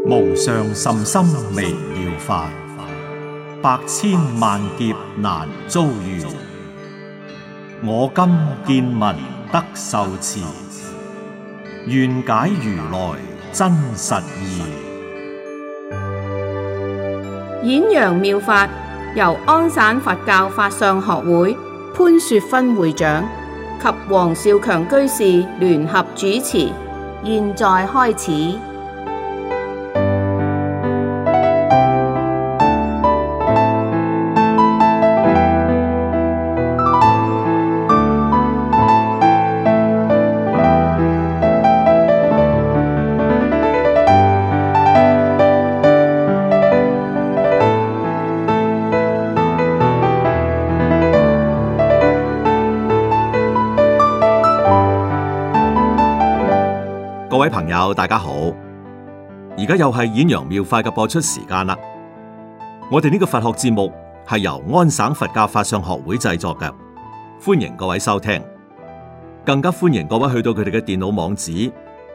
無上甚深微妙法，百千萬劫難遭遇。我今見聞得受持，願解如來真實義。 演揚妙法由安省佛教法相學會潘雪芬會長及黃少強居士聯合主持，現在開始。 各位朋友，大家好！而家又係演揚妙法嘅播出時間啦。我哋呢個佛學節目係由安省佛教法相學會製作嘅，歡迎各位收聽。更加歡迎各位去到佢哋嘅電腦網址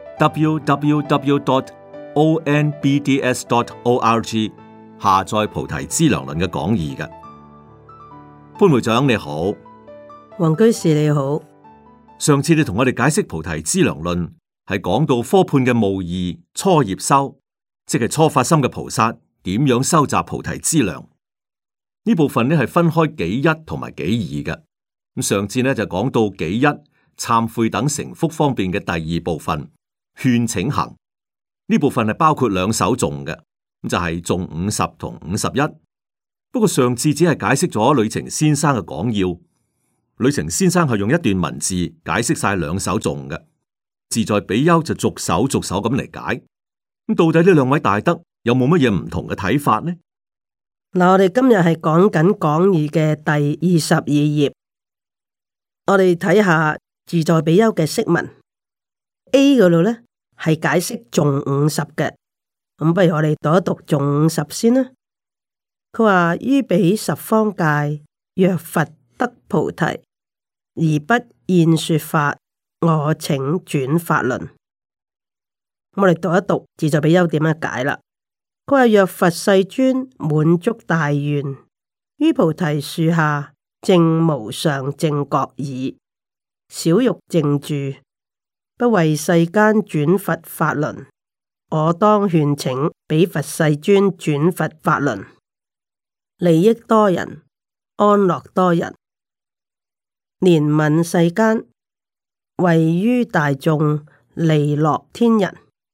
www.onbds.org 下載菩提資糧論嘅講義嘅。潘會長你好， 黃居士你好。 上次你同我哋解釋菩提資糧論，係講到科判嘅無二初業修，即係初發心嘅菩薩點樣收集菩提資糧。呢部分呢係分開己一同埋己二嘅。咁上次呢就講到己一懺悔等成福方便嘅第二部分勸請行。呢部分係包括兩首頌嘅，咁就係頌50同51。不過上次只係解釋咗呂澄先生嘅講要，呂澄先生係用一段文字解釋晒兩首頌嘅。自在比丘就逐首咁嚟解，咁到底呢兩位大德有冇乜嘢唔同嘅睇法呢？ 嗱，我哋今日係講緊講義嘅第22頁，我哋睇下自在比丘嘅釋文 A 嗰度咧係解釋頌50嘅，咁不如我哋讀一讀頌50先啦。佢話於彼十方界，若佛得菩提，而不現說法，我請轉法輪。我哋讀一讀自在比丘點樣解啦。佢話若佛世尊滿足大願，於菩提樹下證無上正覺已，少欲靜住，不為世間轉佛法輪。我當勸請彼佛世尊轉佛法輪，利益多人，安樂多人，憐憫世間，為於大眾利樂天人。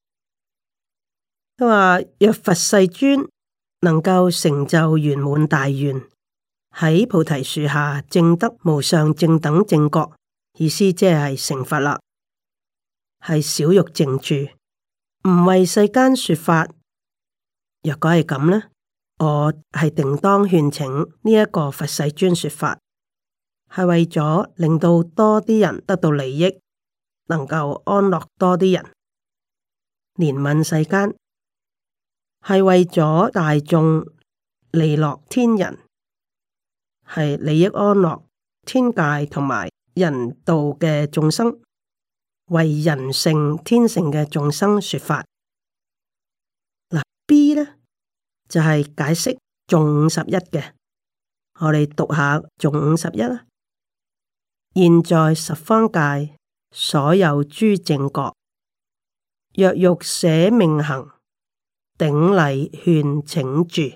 佢話若佛世尊能夠成就圓滿大願，喺菩提樹下證得無上正等正覺，意思即係成佛啦，係少欲靜住，唔為世間說法。若果係咁呢，我係定當勸請呢一個佛世尊說法，係為咗令到多啲人得到利益，能夠安樂多啲人，憐憫世間，係為咗大眾利樂天人，係利益安樂天界同埋人道嘅眾生，為人性天性嘅眾生說法。嗱 B 呢就係、是、解釋頌51嘅，我哋讀下頌51啦。現在十方界，所有諸正覺，若欲捨命行，頂禮勸請住。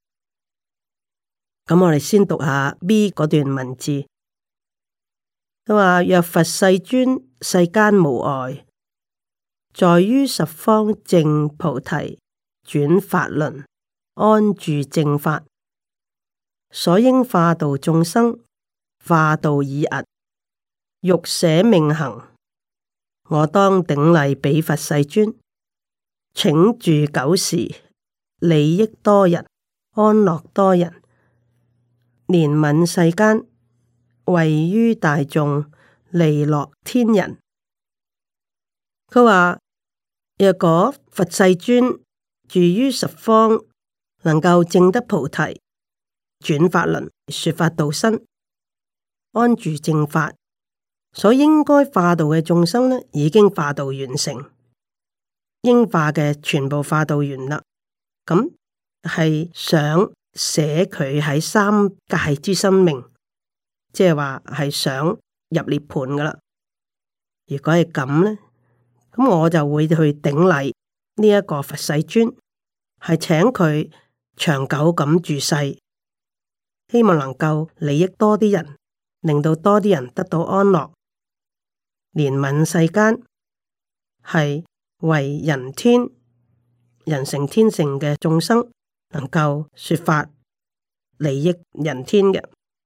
咁我哋先讀下 B 嗰段文字。佢話若佛世尊世間無礙，在於十方正菩提轉法輪，安住正法，所應化度眾生，化度已訖，欲捨命行，我當頂禮彼佛世尊，請住久時，利益多人，安樂多人，憐憫世間，為於大眾利樂天人。佢話若果佛世尊住於十方，能夠證得菩提，轉法輪，說法度生，安住正法，所應該化度嘅眾生呢，已經化度完成。 應化嘅全部化到完啦。咁係想捨佢喺三界之生命，即係話係想入涅槃噶啦。如果係咁咧，咁我就會去頂禮呢一個佛世尊，係請佢長久咁住世，希望能夠利益多啲人，令到多啲人得到安樂，憐憫世間，係為人天、人成天成嘅眾生，能夠說法利益人天嘅。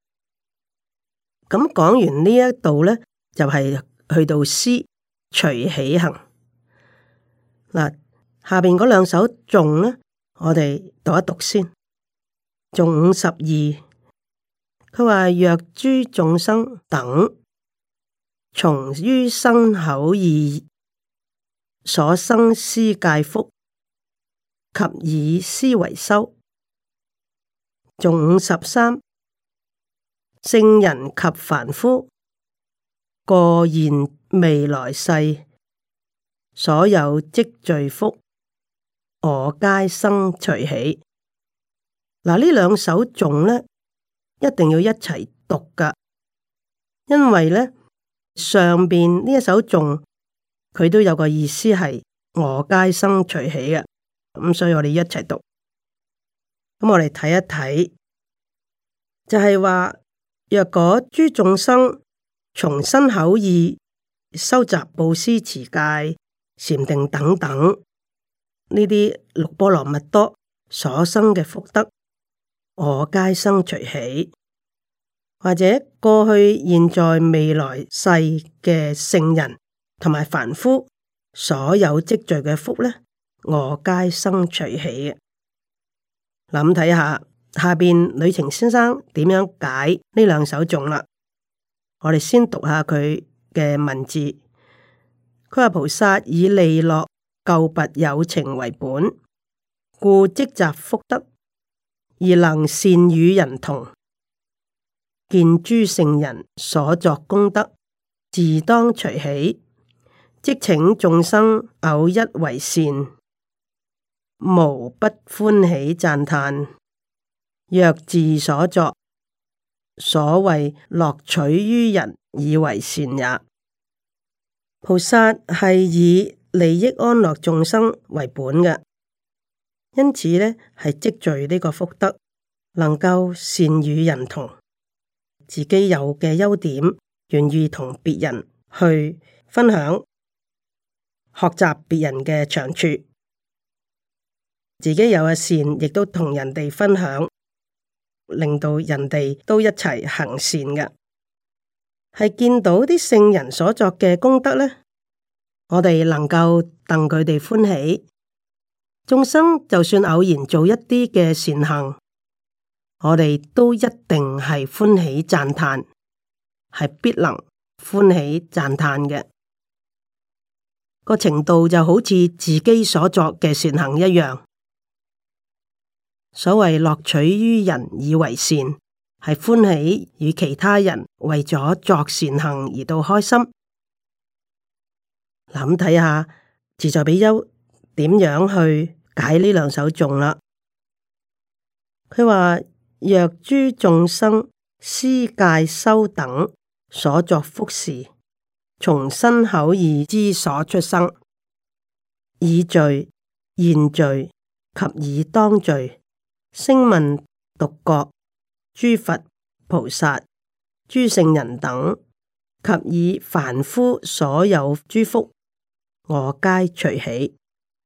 咁講完呢一度咧，就係去到詩隨喜行。嗱，下邊嗰兩首頌咧，我哋讀一讀先。頌52，佢話若諸眾生等，從於身口意所生施戒福，及以斯為修。頌53，聖人及凡夫，過現未來世所有積聚福，我皆生隨喜。嗱，呢兩首頌咧，一定要一齊讀噶，因為咧上邊呢一首頌佢都有個意思係我皆生隨喜嘅，咁所以我哋一齊讀。咁我哋睇一睇，就係話若果諸眾生從身口意收集布施、持戒、禪定等等呢啲六波羅蜜多所生嘅福德，我皆生隨喜。或者過去、現在、未來世嘅聖人同埋凡夫所有積聚嘅福呢，我皆生隨喜嘅。諗睇下下邊呂澄先生點樣解呢兩首頌啦。我哋先讀下佢嘅文字。佢話菩薩以利樂救拔有情為本，故積集福德，而能善與人同。見諸聖人所作功德，自當隨喜，即請眾生偶一為善，無不歡喜讚歎。若自所作，所謂樂取於人以為善也。菩薩係以利益安樂眾生為本嘅，因此呢係積聚呢個福德，能夠善與人同，自己有嘅優點，願意同別人去分享，學習別人嘅長處，自己有嘅善，亦都同人哋分享，令到人哋都一齊行善嘅。係見到啲聖人所作嘅功德呢，我哋能夠戥佢哋歡喜。眾生就算偶然做一啲嘅善行，我哋都一定係歡喜讚歎，係必能歡喜讚歎嘅。個程度就好似自己所作嘅善行一樣。所謂樂取於人以為善，係歡喜與其他人為咗作善行而到開心。嗱，咁睇下自在比丘點樣去解呢兩首頌啦。佢話若諸眾生施戒修等所作福事，從身口意之所出生，以罪、現罪及以當罪，聲聞、獨覺、諸佛菩薩、諸聖人等，及以凡夫所有諸福，我皆隨喜。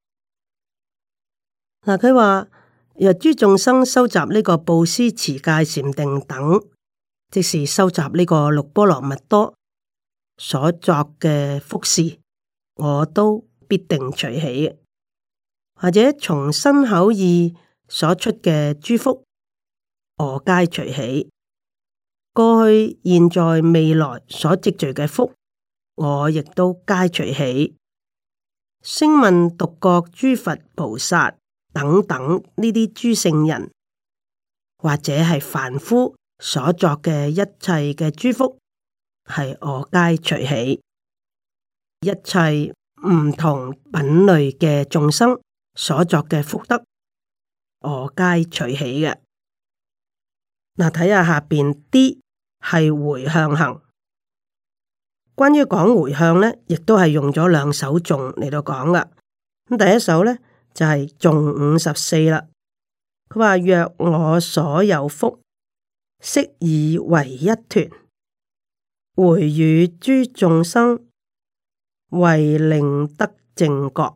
嗱，佢話若諸眾生收集呢個布施、持戒、禪定等，即是收集呢個六波羅蜜多所作嘅福事，我都必定隨喜嘅。或者從身口意所出嘅諸福，我皆隨喜。過去、現在、未來所積聚嘅福，我亦都皆隨喜。聲聞、獨覺、諸佛菩薩等等呢啲諸聖人，或者係凡夫所作嘅一切嘅諸福，係我皆隨喜。一切唔同品類嘅眾生所作嘅福德，我皆隨喜嘅。嗱，睇下下邊啲係回向行。關於講回向咧，亦都係用咗兩首頌嚟到講噶。咁第一首咧就係頌54啦。佢話：若我所有福，悉以為一團，回與諸眾生，為令得正覺。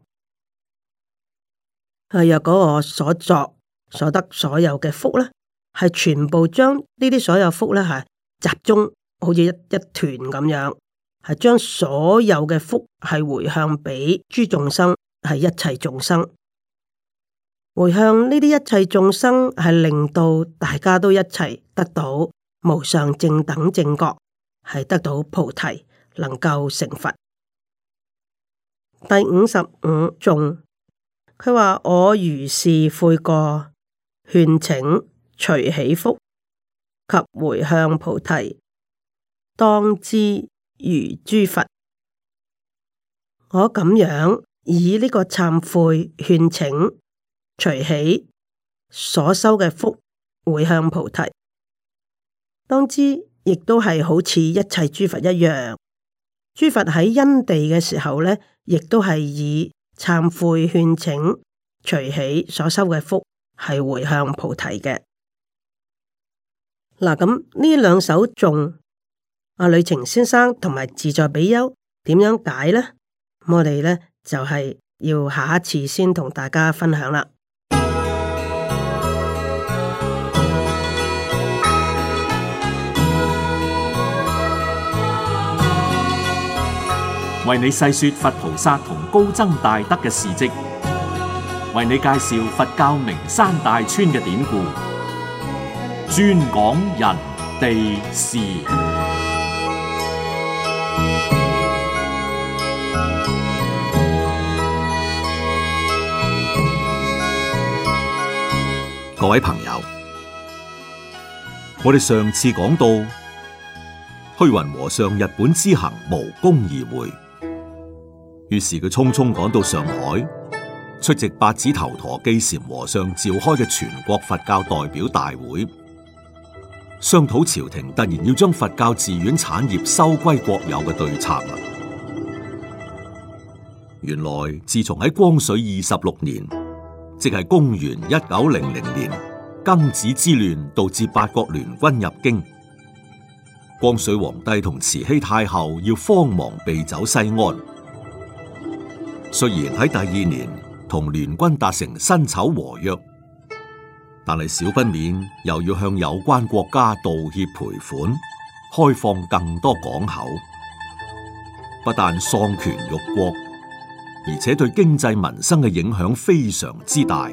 若果我所作所得所有嘅福咧，係全部將呢啲所有福咧係集中，好似一團咁樣，係將所有嘅福係回向俾諸眾生，係一切眾生。回向呢啲一切眾生，係令到大家都一齊得到無上正等正覺，係得到菩提，能夠成佛。第55頌，佢話：我如是悔過，勸請隨喜福及回向菩提，當知如諸佛。我咁樣以呢個懺悔、勸請、隨喜所修嘅福回向菩提，當知亦都係好似一切諸佛一樣。諸佛喺因地嘅時候咧，亦都係以懺悔、勸請、隨喜所修嘅福係回向菩提嘅。嗱，咁呢兩首頌，阿呂澄先生同埋自在比丘點樣解呢？我哋咧就係要下一次先同大家分享啦。 為你細說佛菩薩同高僧大德嘅事跡，為你介紹佛教名山大川嘅典故，專講人地事。 各位朋友，我哋上次講到虛雲和尚日本之行無功而回，於是佢匆匆趕到上海，出席八指頭陀基禪和尚召開嘅全國佛教代表大會，商討朝廷突然要將佛教寺院產業收歸國有嘅對策啦。原來自從喺光緒26年，即係公元1900年，庚子之亂導致八國聯軍入京，光緒皇帝同慈禧太后要慌忙避走西安。雖然喺第2年同聯軍達成辛丑和約，但係少不免又要向有關國家道歉賠款，開放更多港口，不但喪權辱國，而且對經濟民生嘅影響非常之大。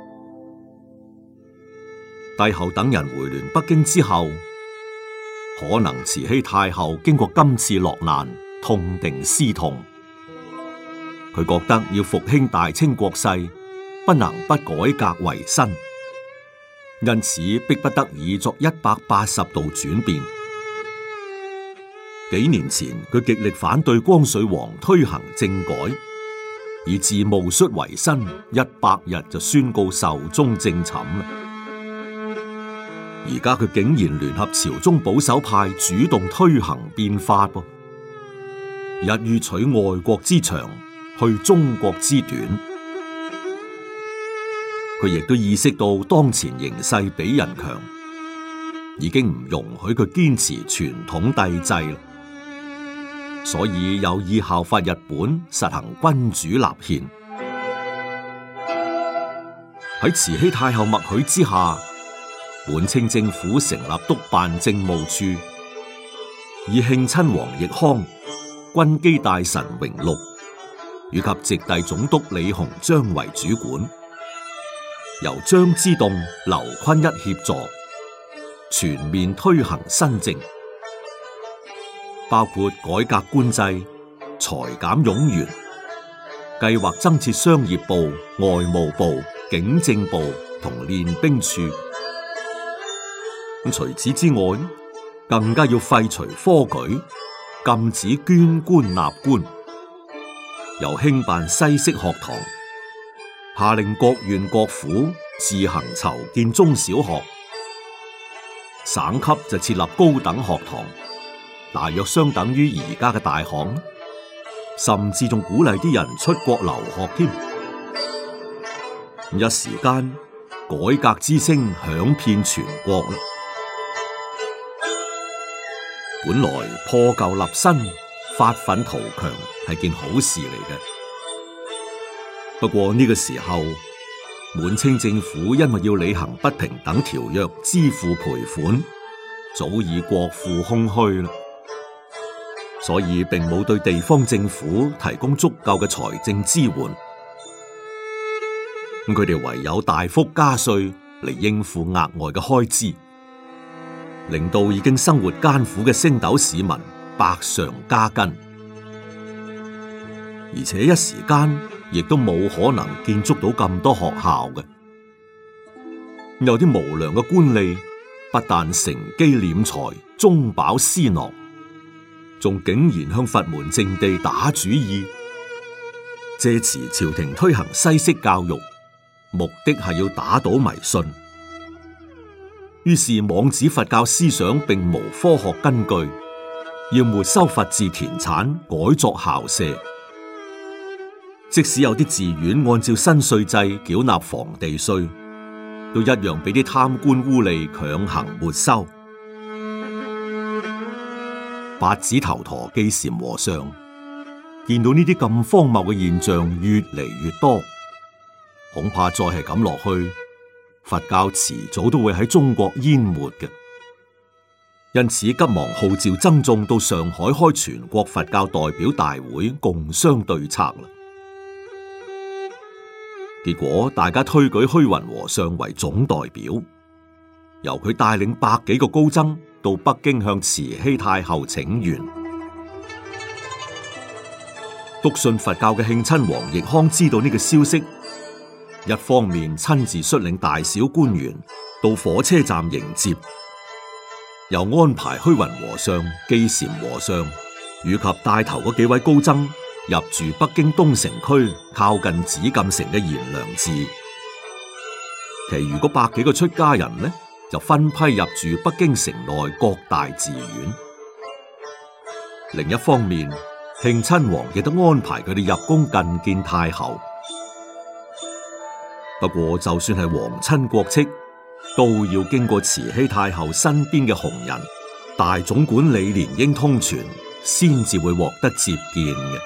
帝后等人回鑾北京之後，可能慈禧太后經過今次落難，痛定思痛，佢覺得要復興大清國勢，不能不改革為新，因此迫不得已作180度轉變。幾年前，佢極力反對光緒皇推行政改，以致戊戌維新100日就宣告壽終正寢。而家佢竟然聯合朝中保守派主動推行變法噃，一於取外國之長，去中國之短。佢亦都意識到當前形勢比人強，已經唔容許佢堅持傳統帝制啦，所以有意效法日本，實行君主立憲。喺慈禧太后默許之下，本清政府成立督辦政務處，以慶親王奕匡、軍機大臣榮祿以及直隸總督李鴻章為主管，由張之洞、劉坤一協助，全面推行新政，包括改革官制、裁減冗員，計劃增設商業部、外務部、警政部同練兵處。除此之外，更加要廢除科舉，禁止捐官納官， 由興辦西式學堂，下令各縣各府自行籌建中小學，省級就設立高等學堂，大約相等於而家嘅大學，甚至仲鼓勵啲人出國留學添。一時間，改革之聲響遍全國啦。本來破舊立新、發奮圖強係件好事嚟嘅，不過呢個時候，滿清政府因為要履行不平等條約，支付賠款，早已國庫空虛啦，所以並冇對地方政府提供足夠嘅財政支援。咁佢哋唯有大幅加稅嚟應付額外嘅開支，令到已經生活艱苦嘅星斗市民百上加斤，而且一時間亦都冇可能建築到咁多學校嘅。有啲無良嘅官吏不但乘機斂財、中飽私囊，仲竟然向佛門淨地打主意，借持朝廷推行西式教育，目的係要打倒迷信。於是妄指佛教思想並無科學根據，要沒收佛寺田產，改作校舍。即使有啲寺院按照新稅制繳納房地稅，都一樣俾啲貪官污吏強行沒收。八指頭陀基禪和尚見到呢啲咁荒謬嘅現象越嚟越多，恐怕再係咁落去，佛教遲早都會喺中國淹沒嘅。因此急忙號召僧眾到上海開全國佛教代表大會，共商對策啦。結果大家推舉虛雲和尚為總代表，由佢帶領百幾個高僧到北京向慈禧太后請願。篤信佛教嘅慶親王奕匡知道呢個消息，一方面親自率領大小官員到火車站迎接，又安排虛雲和尚、基禪和尚以及帶頭嗰幾位高僧入住北京東城區靠近紫禁城嘅賢良寺，其餘嗰百幾個出家人呢，就分批入住北京城內各大寺院。另一方面，慶親王亦都安排佢哋入宮覲見太后。不過就算係皇親國戚，都要經過慈禧太后身邊嘅紅人大總管李蓮英通傳，先至會獲得接見嘅。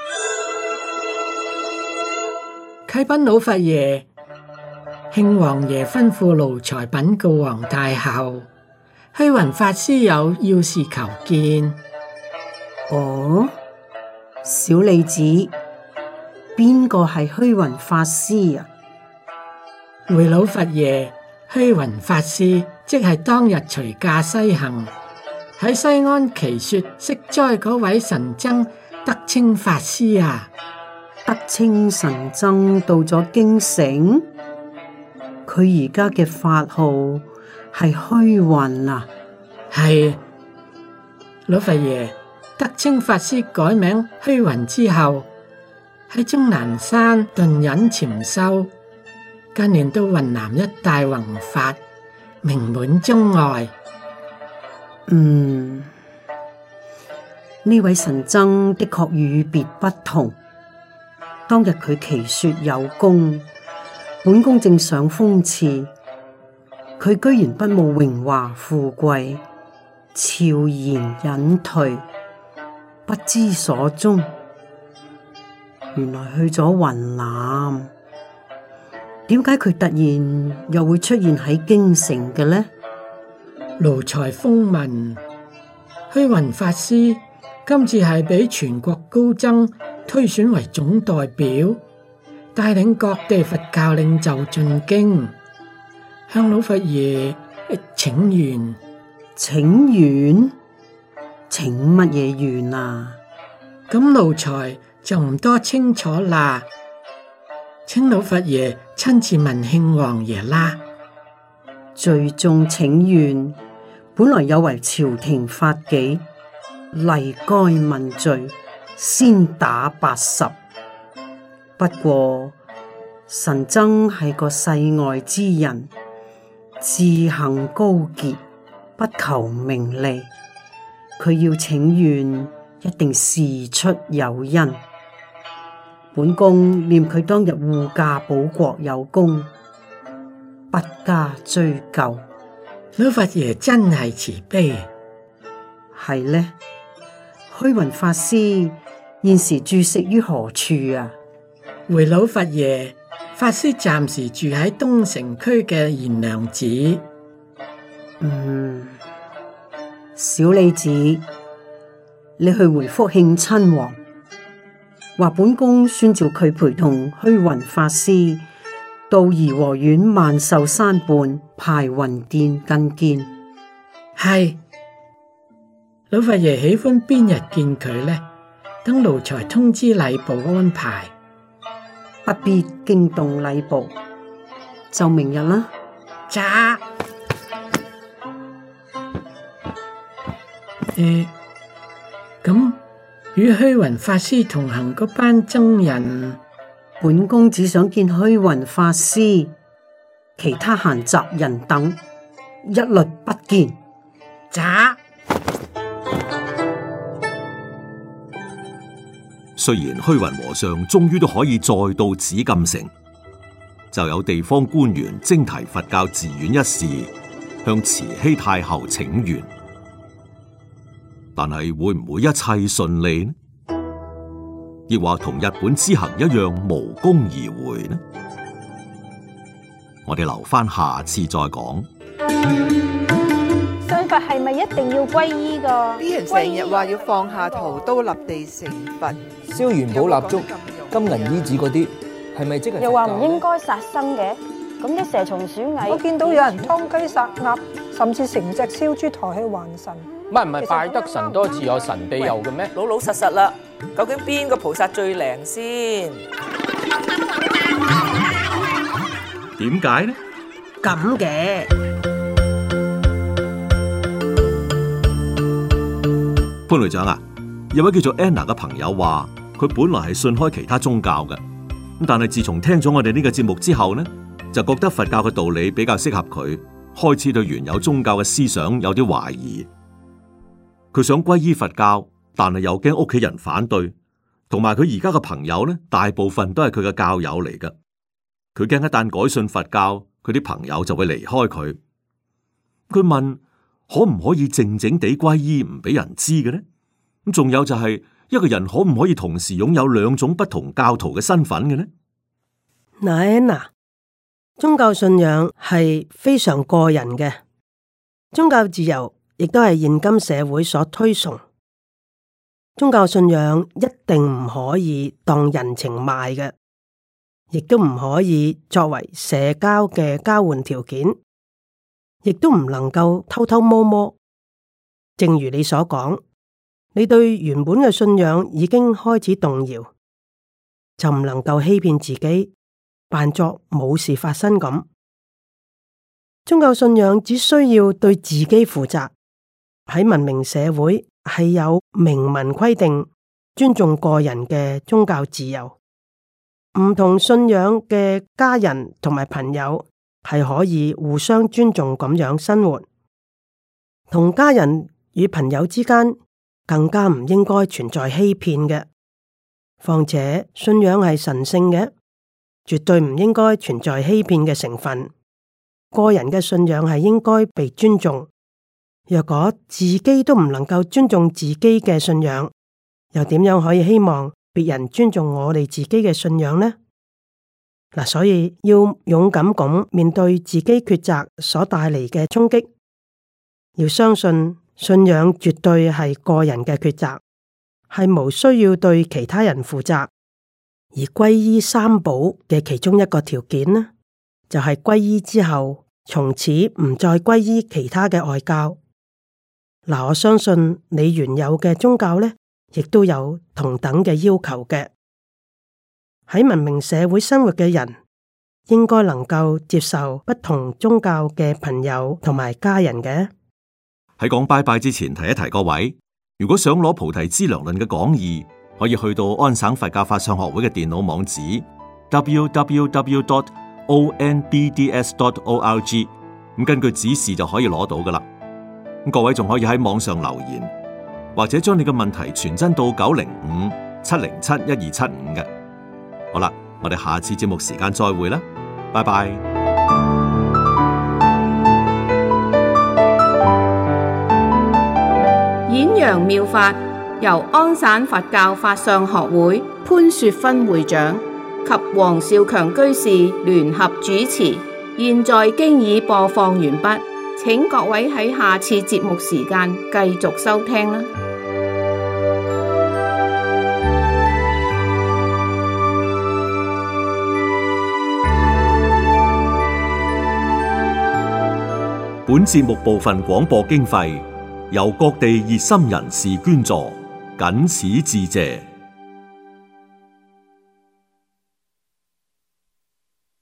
啟稟老佛爺，慶王爺吩咐奴才稟告皇太后，虛雲法師有要事求見。 哦，小李子，邊個係虛雲法師啊？ 回老佛爺，虛雲法師即係當日隨駕西行，喺西安祈說息災嗰位神僧德清法師啊。 德清神僧到咗京城，佢而家嘅法號係虛雲啊。 係，老佛爺，德清法師改名虛雲之後，喺終南山頓隱潛修，近年到雲南一帶弘法，名滿中外。 呢位神僧的確與別不同。當日佢祈說有功，本宮正想封賜，佢居然不慕榮華富貴，悄然隱退，不知所蹤。原來去咗雲南，點解佢突然又會出現喺京城嘅呢？ 奴才風聞，虛雲法師今次係俾全國高僧推選為總代表，帶領各地佛教領袖進京，向老佛爺請願。 請願？請乜嘢願啊？ 咁奴才就唔多清楚啦，請老佛爺親自問慶王爺啦。 罪眾請願，本來有違朝廷法紀，例該問罪，先打80。 不過神僧係個世外之人，志行高潔，不求名利。佢要請願，一定事出有因。本宮念佢當日護駕保國有功，不加追究。 老佛爺真係慈悲。 係呢，虛雲法師現時住食於何處啊？ 回老佛爺，法師暫時住喺東城區嘅賢良寺。 小李子，你去回復慶親王，話本宮宣召佢陪同虛雲法師到頤和園萬壽山畔排雲殿覲見。 係，老佛爺喜歡邊日見佢呢？等奴才通知禮部安排。 不必驚動禮部，就明日啦。 喳。咁與虛雲法師同行嗰班僧人， 本宮只想見虛雲法師，其他閒雜人等一律不見。 喳。 雖然虛雲和尚終於都可以再到紫禁城，就有地方官員徵提佛教寺院一事，向慈禧太后請願。但係會唔會一切順利呢？亦或同日本之行一樣無功而回呢？我哋留翻下次再講。 信佛係咪一定要皈依㗎？ 啲人成日話要放下屠刀立地成佛， 燒元寶蠟燭、金銀衣紙嗰啲，係咪即係？ 又話唔應該殺生嘅，咁啲蛇蟲鼠蟻， 我見到有人劏雞殺鴨，甚至成隻燒豬抬去還神。 唔係拜得神多自有神庇佑嘅咩？ 老老實實啦，究竟邊個菩薩最靈先？ 點解呢？ 咁嘅潘隊長啊，有位叫做 Anna 嘅朋友話，佢本來係信開其他宗教嘅，咁但係自從聽咗我哋呢個節目之後呢，就覺得佛教嘅道理比較適合佢，開始對原有宗教嘅思想有啲懷疑。佢想皈依佛教，但係又驚屋企人反對，同埋佢而家嘅朋友呢，大部分都係佢嘅教友嚟㗎。佢驚一旦改信佛教，佢啲朋友就會離開佢。佢問可唔可以靜靜地皈依，唔俾人知嘅呢？咁仲有就係一個人可唔可以同時擁有兩種不同教徒嘅身份嘅呢？ 嗱，宗教信仰係非常個人嘅，宗教自由亦都係現今社會所推崇。宗教信仰一定唔可以當人情賣嘅，亦都唔可以作為社交嘅交換條件，亦都唔能夠偷偷摸摸。正如你所講，你對原本嘅信仰已經開始動搖，就唔能夠欺騙自己，扮作冇事發生咁。宗教信仰只需要對自己負責。喺文明社會係有明文規定，尊重個人嘅宗教自由。唔同信仰嘅家人同埋朋友係可以互相尊重咁樣生活。同家人與朋友之間更加唔應該存在欺騙嘅。況且信仰係神聖嘅，絕對唔應該存在欺騙嘅成分。個人嘅信仰係應該被尊重。若果自己都唔能夠尊重自己嘅信仰，又點樣可以希望別人尊重我哋自己嘅信仰呢？嗱，所以要勇敢咁面對自己抉擇所帶嚟嘅衝擊，要相信信仰絕對係個人嘅抉擇，係無需要對其他人負責。而皈依三寶嘅其中一個條件呢，就係皈依之後，從此唔再皈依其他嘅外教。嗱，我相信你原有嘅宗教呢，亦都有同等嘅要求嘅。喺文明社會生活嘅人，應該能夠接受不同宗教嘅朋友同埋家人嘅。 喺講拜拜之前，提一提各位，如果想攞《菩提資糧論》嘅講義， 可以去到安省佛教法相學會嘅電腦網址 www.onbds.org， 咁根據指示就可以攞到噶啦。咁各位仲可以喺網上留言，或者將你嘅問題傳真到905-707-1275嘅。好啦，我哋下次節目時間再會啦，拜拜。 演揚妙法由安省佛教法相學會潘雪芬會長及黃少強居士聯合主持，現在經已播放完畢，請各位喺下次節目時間繼續收聽啦。 本節目部分廣播經費由各地熱心人士捐助，謹此致謝。